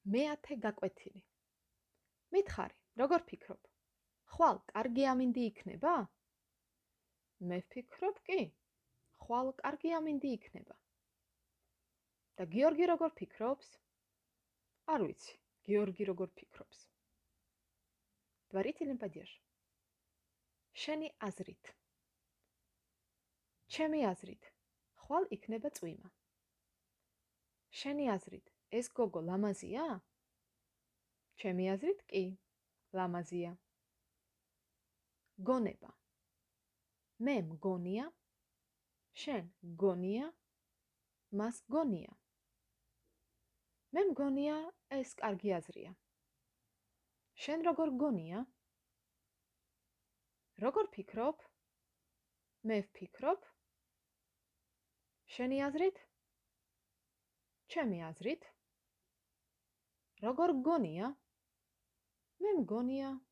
მეათე გაკვეთილი. მითხარი, როგორ ფიქრობ? ხვალ კარგი ამინდი იქნება? მე ვფიქრობ კი. ხვალ კარგი ამინდი იქნება. და გიორგი როგორ ფიქრობს? არ ვიცი, გიორგი როგორ ფიქრობს. Дворительный падеж. შენი აზრით. ჩემი აზრით, ხვალ იქნება წვიმა. შენი აზრით, ეს გოგო ლამაზია? ჩემი აზრით კი, ლამაზია. გონება. მე მგონია, შენ გონია, მას გონია. მე მგონია, ეს კარგი აზრია. შენ როგორ გონია? როგორ ფიქრობ? მე ვფიქრობ. შენი აზრით? ჩემი აზრით. როგორ გონია? მე მგონია